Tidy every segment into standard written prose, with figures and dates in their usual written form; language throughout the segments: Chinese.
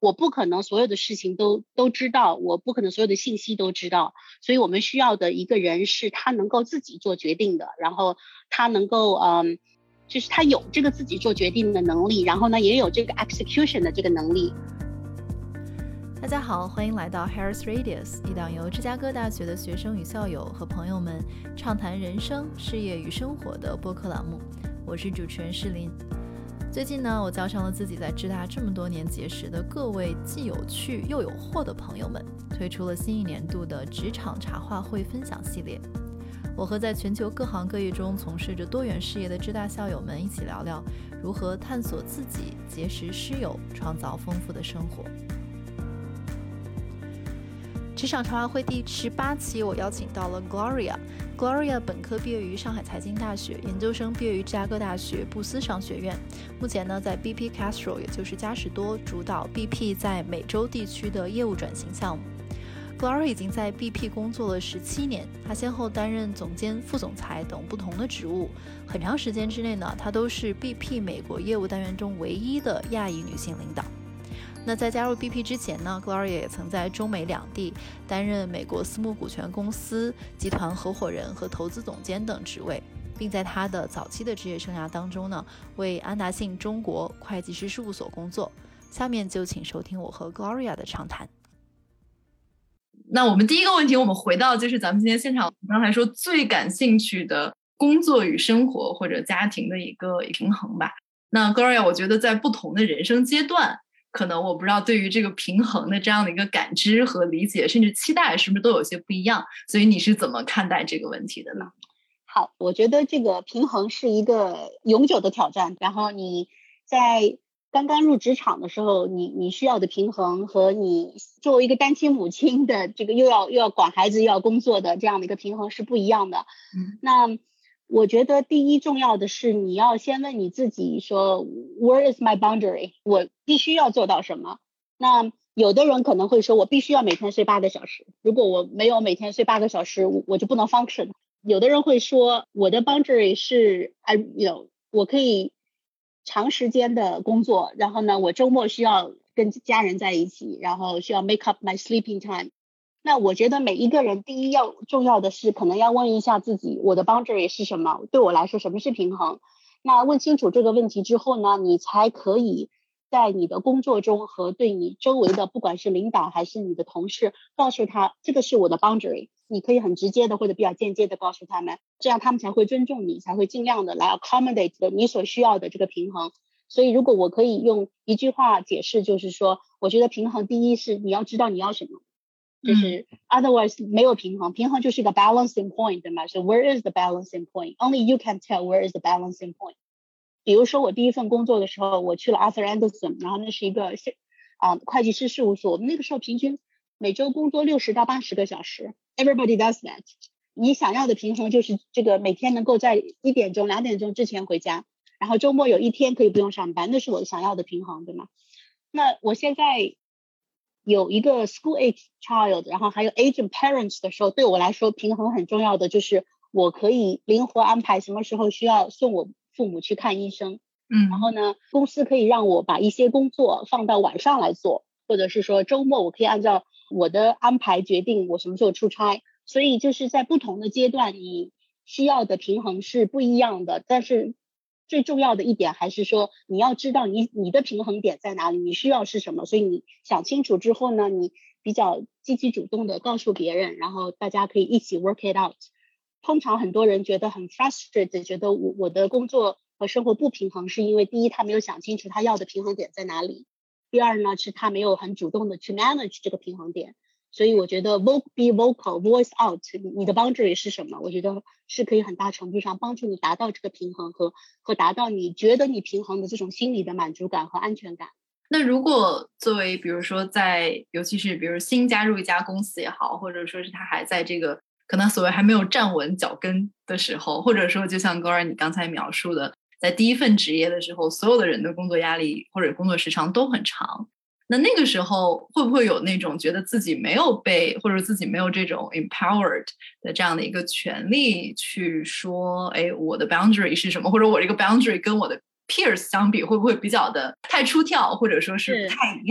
我不可能所有的事情都知道，我不可能所有的信息都知道，所以我们需要的一个人是他能够自己做决定的，然后他能够就是他有这个自己做决定的能力，然后呢也有这个 execution 的这个能力。 大家好，欢迎来到 Harris Radius， 一档由芝加哥大学的学生与校友和朋友们畅谈人生、事业与生活的播客栏目。我是主持人诗琳。最近呢，我叫上了自己在芝大这么多年结识的各位既有趣又有货的朋友们，推出了新一年度的职场茶话会分享系列。我和在全球各行各业中从事着多元事业的芝大校友们一起聊聊如何探索自己、结识师友、创造丰富的生活。职场茶话会第18期，我邀请到了 Gloria。Gloria 本科毕业于上海财经大学，研究生毕业于芝加哥大学布斯商学院。目前呢，在 BP Castrol， 也就是嘉实多主导 BP 在美洲地区的业务转型项目。Gloria 已经在 BP 工作了17年，她先后担任总监、副总裁等不同的职务。很长时间之内呢，她都是 BP 美国业务单元中唯一的亚裔女性领导。那在加入 BP 之前呢， Gloria 也曾在中美两地担任美国私募股权公司集团合伙人和投资总监等职位，并在他的早期的职业生涯当中呢，为安达信中国会计师事务所工作。下面就请收听我和 Gloria 的畅谈。 那我们第一个问题，我们回到就是咱们今天现场刚才说最感兴趣的工作与生活或者家庭的一个平衡吧。那 Gloria 我觉得在不同的人生阶段，可能我不知道对于这个平衡的这样的一个感知和理解甚至期待是不是都有些不一样，所以你是怎么看待这个问题的呢？ 好，我觉得这个平衡是一个永久的挑战，然后你在刚刚入职场的时候，你需要的平衡和你作为一个单亲母亲的这个又要管孩子又要工作的这样的一个平衡是不一样的。那我觉得第一重要的是你要先问你自己说 Where is my boundary？ 我必须要做到什么？那有的人可能会说我必须要每天睡8个小时，如果我没有每天睡8个小时，我就不能 function。 有的人会说我的 boundary 是我可以长时间的工作，然后呢我周末需要跟家人在一起，然后需要 make up my sleeping time。那我觉得每一个人第一重要的是可能要问一下自己，我的 boundary 是什么？对我来说什么是平衡？那问清楚这个问题之后呢，你才可以在你的工作中和对你周围的不管是领导还是你的同事告诉他这个是我的 boundary。 你可以很直接的或者比较间接的告诉他们，这样他们才会尊重你，才会尽量的来 accommodate 你所需要的这个平衡。所以如果我可以用一句话解释，就是说我觉得平衡第一是你要知道你要什么，就是 otherwise 没有平衡，平衡就是一个 balancing point， 对吗？ So where is the balancing point? Only you can tell where is the balancing point。 比如说我第一份工作的时候，我去了 Arthur Andersen， 然后那是一个会计师事务所，我们那个时候平均每周工作60到80个小时， everybody does that。 你想要的平衡就是这个每天能够在1点钟2点钟之前回家，然后周末有1天可以不用上班，那是我想要的平衡，对吗？那我现在有一个 school age child， 然后还有 aging parents 的时候，对我来说平衡很重要的就是我可以灵活安排什么时候需要送我父母去看医生，然后呢公司可以让我把一些工作放到晚上来做，或者是说周末我可以按照我的安排决定我什么时候出差。所以就是在不同的阶段你需要的平衡是不一样的，但是最重要的一点还是说你要知道你的平衡点在哪里，你需要是什么。所以你想清楚之后呢，你比较积极主动的告诉别人，然后大家可以一起 work it out。 通常很多人觉得很 frustrated， 觉得我的工作和生活不平衡，是因为第一他没有想清楚他要的平衡点在哪里，第二呢是他没有很主动的去 manage 这个平衡点。所以我觉得 be vocal voice out 你的 boundary 是什么，我觉得是可以很大程度上帮助你达到这个平衡和达到你觉得你平衡的这种心理的满足感和安全感。 那如果作为比如说尤其是比如新加入一家公司也好，或者说是他还在这个可能所谓还没有站稳脚跟的时候，或者说就像 Gloria 你刚才描述的，在第一份职业的时候，所有的人的工作压力或者工作时长都很长，那个时候会不会有那种觉得自己没有被或者自己没有这种 empowered 的这样的一个权利去说我的 boundary 是什么，或者我这个 boundary 跟我的 peers 相比会不会比较的太出挑，或者说是不太一样？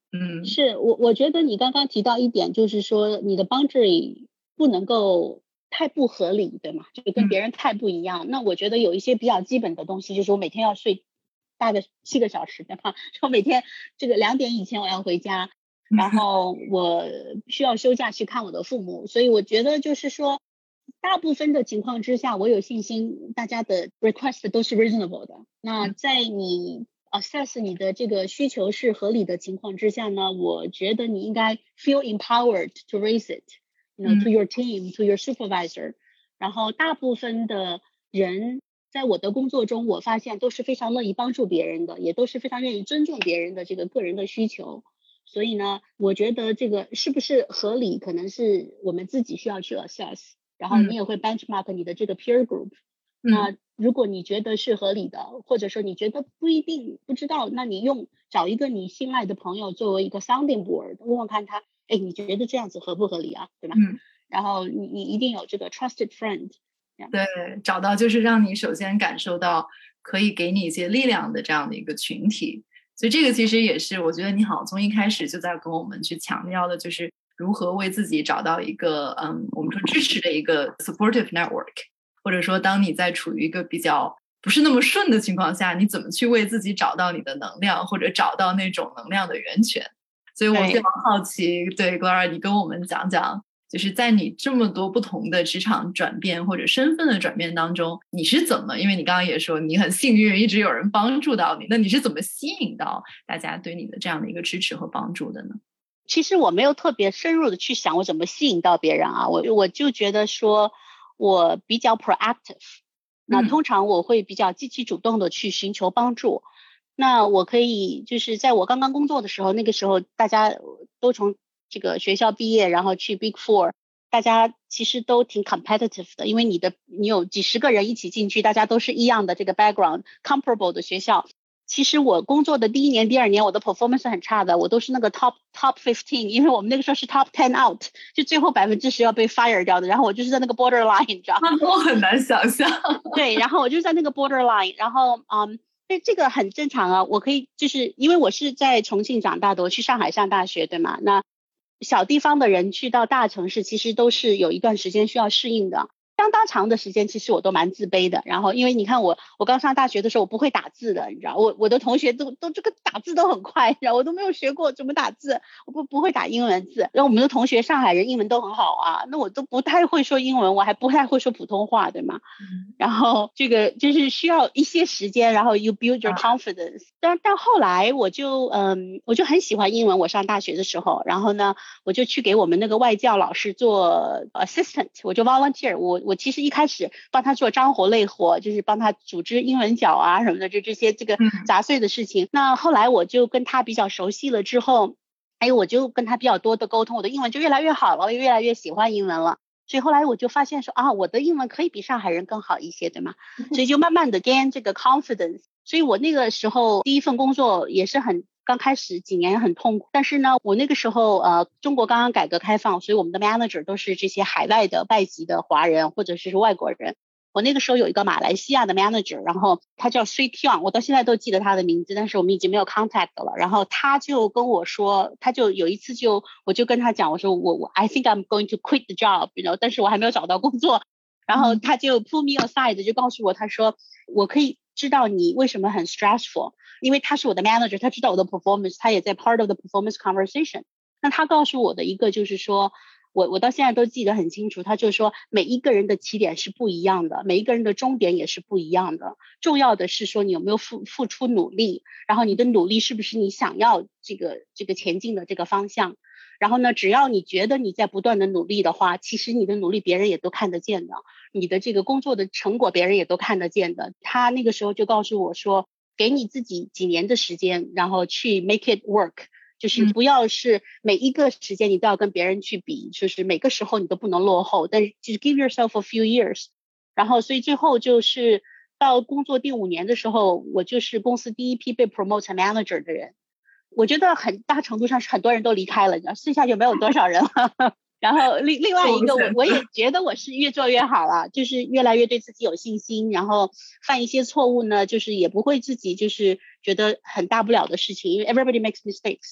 是我觉得你刚刚提到一点，就是说你的 boundary 不能够太不合理，对吗？就跟别人太不一样。那我觉得有一些比较基本的东西，就是我每天要睡大概7个小时，对吧？我每天这个2点以前我要回家，然后我需要休假去看我的父母，所以我觉得就是说大部分的情况之下，我有信心大家的 request 都是 reasonable 的。那在你assess 你的这个需求是合理的情况之下呢，我觉得你应该 feel empowered to raise it, to your team, to your supervisor。 然后大部分的人在我的工作中，我发现都是非常乐意帮助别人的，也都是非常愿意尊重别人的这个个人的需求。所以呢，我觉得这个是不是合理，可能是我们自己需要去 assess。然后你也会 benchmark 你的这个 peer group。那如果你觉得是合理的，或者说你觉得不一定不知道，那你找一个你信赖的朋友作为一个 sounding board， 问问看他，你觉得这样子合不合理啊，对吧？然后你一定有这个 trusted friend。 对，找到就是让你首先感受到可以给你一些力量的这样的一个群体。所以这个其实也是我觉得你好从一开始就在跟我们去强调的，就是如何为自己找到一个我们说支持的一个 supportive network， 或者说当你在处于一个比较不是那么顺的情况下，你怎么去为自己找到你的能量，或者找到那种能量的源泉。所以我非常好奇，对 Gloria 你跟我们讲讲，就是在你这么多不同的职场转变或者身份的转变当中，你是怎么，因为你刚刚也说你很幸运一直有人帮助到你，那你是怎么吸引到大家对你的这样的一个支持和帮助的呢？ 其实我没有特别深入的去想我怎么吸引到别人啊，我就觉得说我比较 proactive， 那通常我会比较积极主动的去寻求帮助。那我可以就是在我刚刚工作的时候，那个时候大家都从这个学校毕业，然后去 Big Four， 大家其实都挺 competitive 的，因为你有几十个人一起进去，大家都是一样的这个 background comparable 的学校。其实我工作的第1年第2年我的 performance 很差的，我都是那个 top 15， 因为我们那个时候是 top 10 out， 就最后10%要被 fire 掉的，然后我就是在那个 borderline， 你知道吗？ 我很难想象。 对，然后我就在那个 borderline， 然后这个很正常啊。我可以就是因为我是在重庆长大的，我去上海上大学，对吗？那小地方的人去到大城市其实都是有一段时间需要适应的，相当长的时间其实我都蛮自卑的。然后因为你看我刚上大学的时候我不会打字的，你知道，我的同学都这个打字都很快，然后我都没有学过怎么打字，我不会打英文字。然后我们的同学上海人英文都很好啊，那我都不太会说英文，我还不太会说普通话，对吗？然后这个就是需要一些时间，然后 you build your confidence。但后来我就很喜欢英文，我上大学的时候，然后呢我就去给我们那个外教老师做 assistant， 我就 volunteer， 我其实一开始帮他做脏活累活，就是帮他组织英文角啊什么的，就这些这个杂碎的事情。那后来我就跟他比较熟悉了之后，我就跟他比较多的沟通，我的英文就越来越好了，我越来越喜欢英文了。所以后来我就发现说我的英文可以比上海人更好一些，对吗？所以就慢慢的 gain 这个 confidence。所以我那个时候第一份工作也是刚开始几年很痛苦，但是呢我那个时候中国刚刚改革开放，所以我们的 manager 都是这些海外的外籍的华人或者是外国人。我那个时候有一个马来西亚的 manager， 然后他叫 Sui Tiong， 我到现在都记得他的名字，但是我们已经没有 contact 了。然后他就跟我说，他就有一次我就跟他讲，我说我 I think I'm going to quit the job， 但是我还没有找到工作。然后他就 pull me aside， 就告诉我，他说我可以知道你为什么很 stressful， 因为他是我的 manager， 他知道我的 performance， 他也在 part of the performance conversation。 那他告诉我的一个就是说，我到现在都记得很清楚，他就说每一个人的起点是不一样的，每一个人的终点也是不一样的，重要的是说你有没有付出努力，然后你的努力是不是你想要这个前进的这个方向。然后呢只要你觉得你在不断的努力的话，其实你的努力别人也都看得见的，你的这个工作的成果别人也都看得见的。他那个时候就告诉我说，给你自己几年的时间，然后去 make it work，就是不要是每一个时间你都要跟别人去比，就是每个时候你都不能落后，但是就是 give yourself a few years。 然后所以最后就是到工作第5年的时候，我就是公司第一批被 promote manager 的人。我觉得很大程度上是很多人都离开了，剩下就没有多少人了然后另外一个我也觉得我是越做越好了，就是越来越对自己有信心，然后犯一些错误呢就是也不会自己就是觉得很大不了的事情，因为 everybody makes mistakes。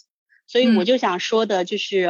所以我就想说的就是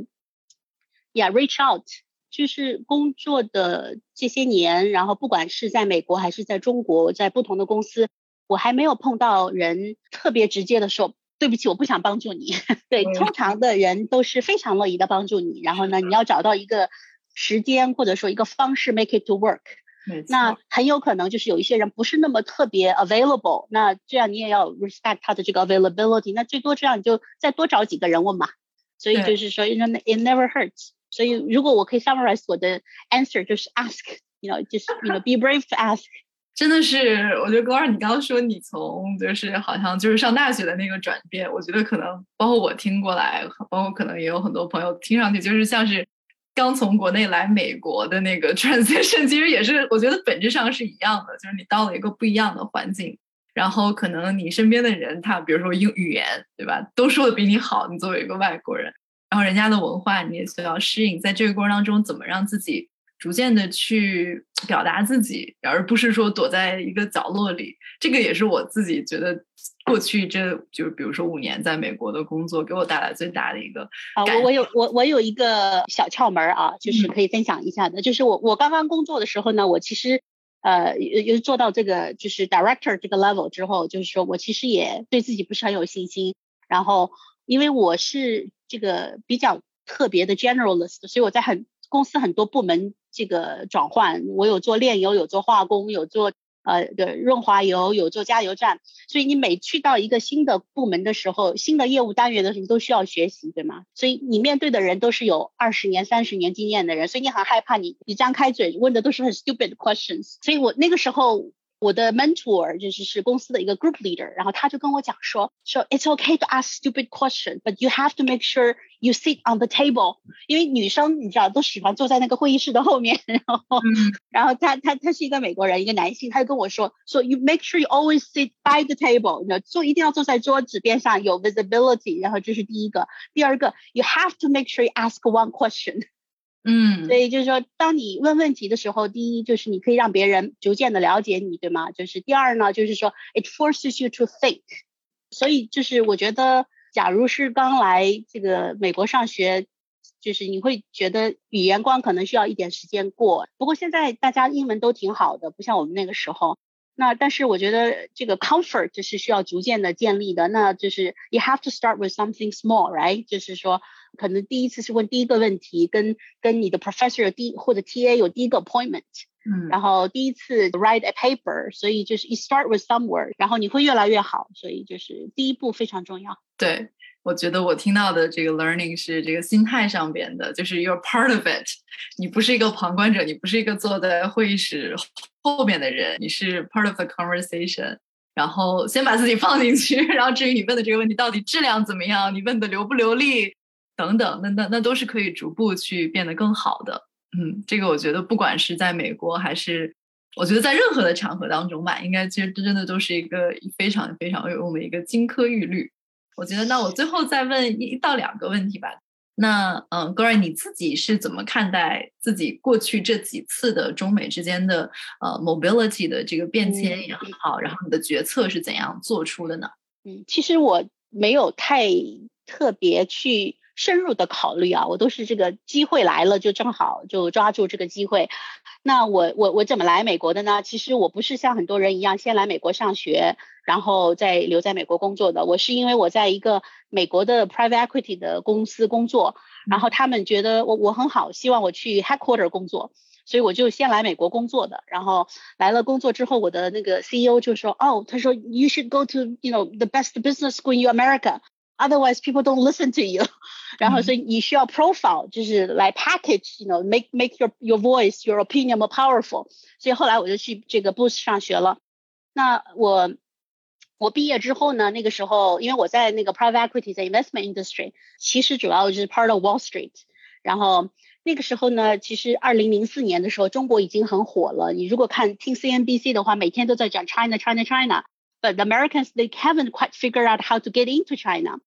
reach out， 就是工作的这些年，然后不管是在美国还是在中国，在不同的公司，我还没有碰到人特别直接的说对不起我不想帮助你对，通常的人都是非常乐意的帮助你，然后呢你要找到一个时间或者说一个方式 make it to work。那很有可能就是有一些人不是那么特别 available， 那这样你也要 respect 他的这个 availability， 那最多这样你就再多找几个人问嘛。所以就是说 it never hurts。 所以如果我可以 summarize 我的 answer 就是 ask， just be brave to ask。 真的是我觉得Gloria你刚刚说你从就是好像就是上大学的那个转变，我觉得可能包括我听过来，包括可能也有很多朋友听上去就是像是刚从国内来美国的那个 transition， 其实也是我觉得本质上是一样的，就是你到了一个不一样的环境，然后可能你身边的人他比如说语言对吧都说的比你好，你作为一个外国人，然后人家的文化你也需要适应，在这个过程当中怎么让自己逐渐的去表达自己，而不是说躲在一个角落里。这个也是我自己觉得过去这就是比如说5年在美国的工作给我带来最大的一个我有一个小窍门啊，就是可以分享一下的，就是我刚刚工作的时候呢，我其实做到这个就是 director 这个 level 之后，就是说我其实也对自己不是很有信心，然后因为我是这个比较特别的 generalist， 所以我在公司很多部门这个转换，我有做炼油，有做化工，有做润滑油，有做加油站，所以你每去到一个新的部门的时候，新的业务单元的时候，你都需要学习，对吗？所以你面对的人都是有20年、30年经验的人，所以你很害怕你张开嘴问的都是很 stupid questions。 所以我那个时候我的 mentor 就是公司的一个 group leader， 然后他就跟我讲说 it's okay to ask stupid question but you have to make sure you sit on the table， 因为女生你知道都喜欢坐在那个会议室的后面，然后他是一个美国人，一个男性，他就跟我说 so you make sure you always sit by the table， 一定要坐在桌子边上有 visibility， 然后这是第一个。第二个 you have to make sure you ask one question。所以就是说当你问问题的时候，第一就是你可以让别人逐渐的了解你，对吗？就是第二呢，就是说 it forces you to think。 所以就是我觉得假如是刚来这个美国上学，就是你会觉得语言关可能需要一点时间过，不过现在大家英文都挺好的，不像我们那个时候。那但是我觉得这个 comfort 是需要逐渐的建立的，那就是 you have to start with something small， right？ 就是说可能第一次是问第一个问题，跟你的 professor 或者 TA 有第一个 appointment，然后第一次 write a paper， 所以就是 you start with somewhere， 然后你会越来越好，所以就是第一步非常重要。 对，我觉得我听到的这个 learning 是这个心态上边的，就是 you're part of it， 你不是一个旁观者，你不是一个坐在会议室后面的人，你是 part of the conversation， 然后先把自己放进去，然后至于你问的这个问题到底质量怎么样，你问的流不流利等等，那都是可以逐步去变得更好的。这个我觉得不管是在美国还是我觉得在任何的场合当中吧，应该其实真的都是一个非常非常有用的一个金科玉律。我觉得那我最后再问1到2个问题吧。那Gloria 你自己是怎么看待自己过去这几次的中美之间的mobility 的这个变迁也好，然后你的决策是怎样做出的呢？ 其实我没有太特别去深入的考虑啊，我都是这个机会来了就正好就抓住这个机会。那我怎么来美国的呢？其实我不是像很多人一样先来美国上学然后再留在美国工作的，我是因为我在一个美国的 private equity 的公司工作，然后他们觉得我很好，希望我去 headquarter 工作，所以我就先来美国工作的。然后来了工作之后，我的那个 CEO 就说他说 you should go to the best business school in America otherwise people don't listen to you 然后所以你需要 profile 就是来 package make your voice your opinion more powerful， 所以后来我就去这个 Boost 上学了。那我毕业之后呢，那个时候因为我在那个 private equity 在 investment industry 其实主要就是 part of Wall Street， 然后那个时候呢其实2004年的时候中国已经很火了，你如果听 CNBC 的话每天都在讲 China China China， but the Americans they haven't quite figured out how to get into China。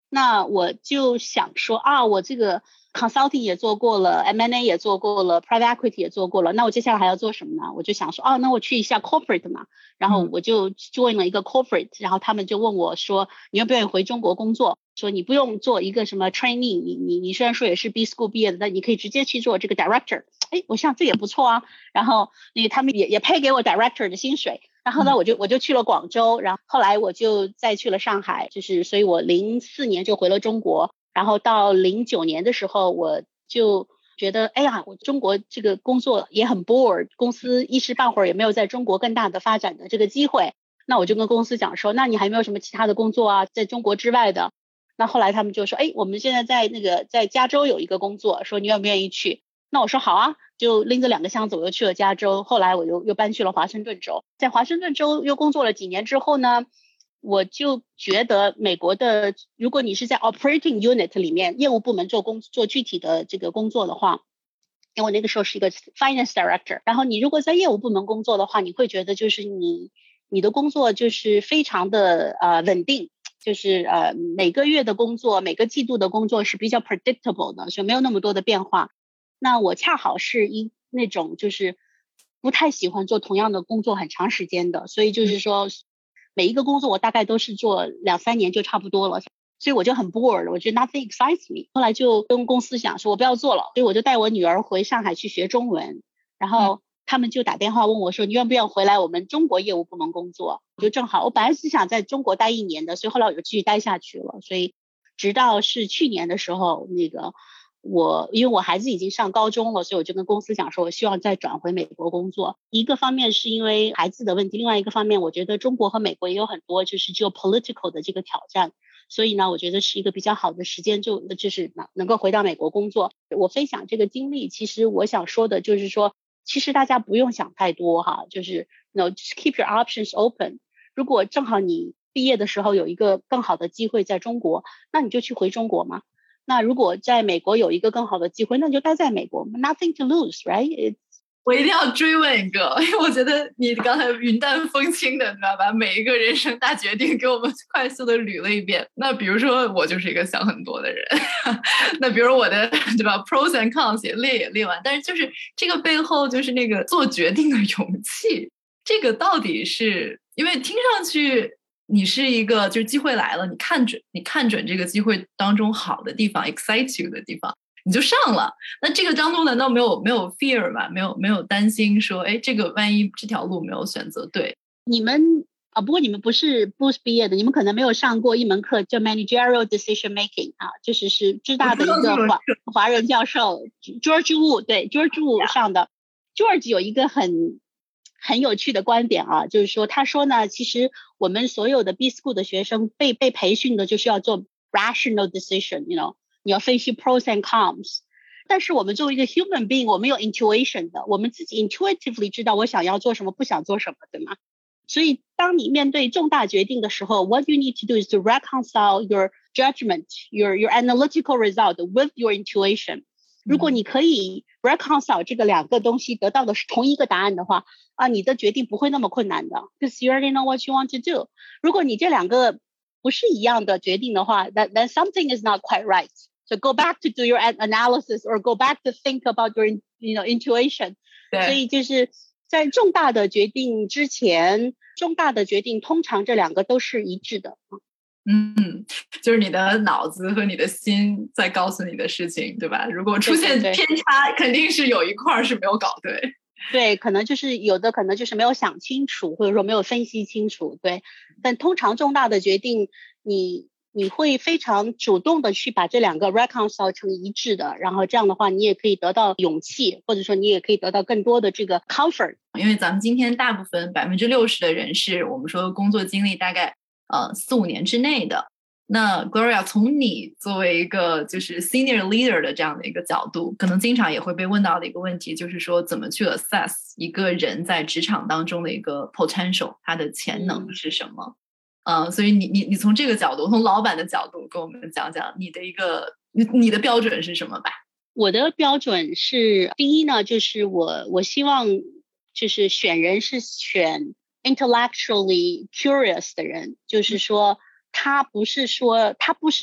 那我就想说啊，我这个 consulting 也做过了， M&A 也做过了， private equity 也做过了，那我接下来还要做什么呢？我就想说那我去一下 corporate 嘛，然后我就 join 了一个 corporate，然后他们就问我说你愿不愿意回中国工作，说你不用做一个什么 training， 你虽然说也是 B school 毕业的，但你可以直接去做这个 director。我想这也不错啊，然后他们也配给我 director 的薪水，然后呢我就去了广州，然后后来我就再去了上海，就是所以我04年就回了中国，然后到09年的时候我就觉得我中国这个工作也很 bored， 公司一时半会儿也没有在中国更大的发展的这个机会，那我就跟公司讲说那你还有没有什么其他的工作啊，在中国之外的。那后来他们就说我们现在在加州有一个工作，说你愿不愿意去。那我说好啊，就拎着2个箱子我又去了加州，后来我又搬去了华盛顿州，在华盛顿州又工作了几年之后呢，我就觉得美国的如果你是在 operating unit 里面业务部门做具体的这个工作的话，因为我那个时候是一个 finance director， 然后你如果在业务部门工作的话，你会觉得就是你的工作就是非常的稳定，就是每个月的工作每个季度的工作是比较 predictable 的，所以没有那么多的变化。那我恰好是那种就是不太喜欢做同样的工作很长时间的，所以就是说每一个工作我大概都是做2-3年就差不多了，所以我就很 bored， 我觉得 nothing excites me。 后来就跟公司讲说我不要做了，所以我就带我女儿回上海去学中文，然后他们就打电话问我说你愿不愿意回来我们中国业务部门工作，就正好我本来是想在中国待1年的，所以后来我就继续待下去了。所以直到是去年的时候因为我孩子已经上高中了，所以我就跟公司讲说我希望再转回美国工作。一个方面是因为孩子的问题，另外一个方面我觉得中国和美国也有很多就是 geopolitical 的这个挑战，所以呢我觉得是一个比较好的时间，就是能够回到美国工作。我分享这个经历，其实我想说的就是说其实大家不用想太多哈，就是just keep your options open。 如果正好你毕业的时候有一个更好的机会在中国，那你就去回中国嘛。那如果在美国有一个更好的机会，那你就待在美国 ，nothing to lose, right？ 我一定要追问一个，因为我觉得你刚才云淡风轻的，对吧？把每一个人生大决定给我们快速的捋了一遍。那比如说我就是一个想很多的人，那比如我的对吧 ，pros and cons 也列完，但是就是这个背后就是那个做决定的勇气，这个到底是因为听上去。你是一个就是机会来了，你看准这个机会当中好的地方 excite you 的地方你就上了，那这个当中难道没有 fear 吗？没有担心说这个万一这条路没有选择对。 你们不过你们不是 Booth 毕业的，你们可能没有上过一门课叫 managerial decision making 就是芝大的一个华人教授 George Wu， 对 George Wu 上的。George 有一个很有趣的观点就是说他说呢，其实我们所有的 B school 的学生被培训的就是要做 rational decision， 你要分析 pros and cons。 但是我们作为一个 human being， 我们有 intuition 的，我们自己 intuitively 知道我想要做什么不想做什么，对吗？所以当你面对重大决定的时候， what you need to do is to reconcile your judgment, your analytical result with your intuition。 如果你可以 reconcile 这个2个东西得到的是同一个答案的话你的决定不会那么困难的 because you already know what you want to do。 如果你这2个不是一样的决定的话 then something is not quite right. So go back to do your analysis or go back to think about your intuition。 所以就是在重大的决定之前，重大的决定通常这2个都是一致的。 就是你的脑子和你的心在告诉你的事情，对吧？如果出现偏差，肯定是有一块是没有搞对。 对，可能就是有的可能就是没有想清楚，或者说没有分析清楚，对。但通常重大的决定，你会非常主动的去把这2个 reconcile 成一致的，然后这样的话你也可以得到勇气，或者说你也可以得到更多的这个 comfort。 因为咱们今天大部分60%的人是我们说工作经历大概4-5年之内的。那 Gloria 从你作为一个就是 senior leader 的这样的一个角度，可能经常也会被问到的一个问题就是说怎么去 assess 一个人在职场当中的一个 potential， 他的潜能是什么。所以你从这个角度，从老板的角度跟我们讲讲你的标准是什么吧。 我的标准是第一呢，就是我希望就是选人是选 intellectually curious 的人，就是说他不是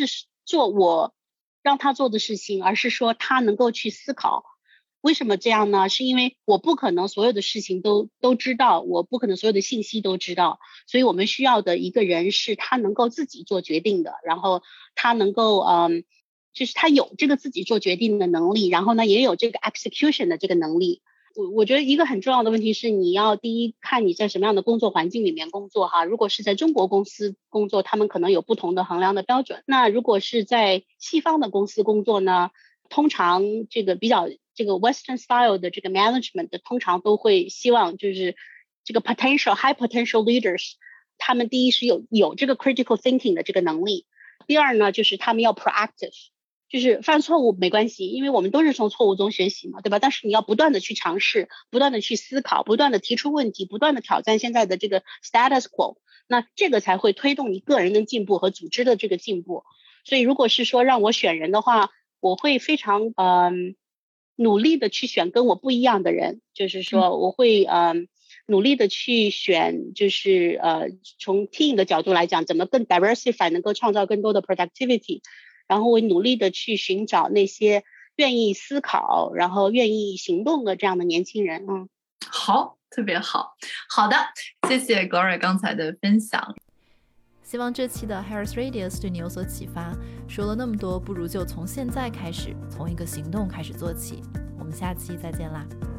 做我让他做的事情，而是说他能够去思考。为什么这样呢？是因为我不可能所有的事情都知道，我不可能所有的信息都知道，所以我们需要的一个人是他能够自己做决定的，然后他能够就是他有这个自己做决定的能力，然后呢也有这个 execution 的这个能力。我觉得一个很重要的问题是，你要第一看你在什么样的工作环境里面工作哈。如果是在中国公司工作，他们可能有不同的衡量的标准。那如果是在西方的公司工作呢，通常这个比较这个 Western style 的这个 management 通常都会希望就是这个 high potential leaders， 他们第一是有这个 critical thinking 的这个能力，第二呢就是他们要 proactive， 就是犯错误没关系，因为我们都是从错误中学习嘛，对吧？但是你要不断的去尝试，不断的去思考，不断的提出问题，不断的挑战现在的这个 status quo， 那这个才会推动你个人的进步和组织的这个进步。所以如果是说让我选人的话，我会非常努力的去选跟我不一样的人，就是说我会努力的去选，就是从 team 的角度来讲，怎么更 diversify， 能够创造更多的 productivity， 然后我努力的去寻找那些愿意思考，然后愿意行动的这样的年轻人。 好，特别好。好的，谢谢 Gloria 刚才的分享。 希望这期的 Harris Radius 对你有所启发。说了那么多，不如就从现在开始，从一个行动开始做起。我们下期再见啦。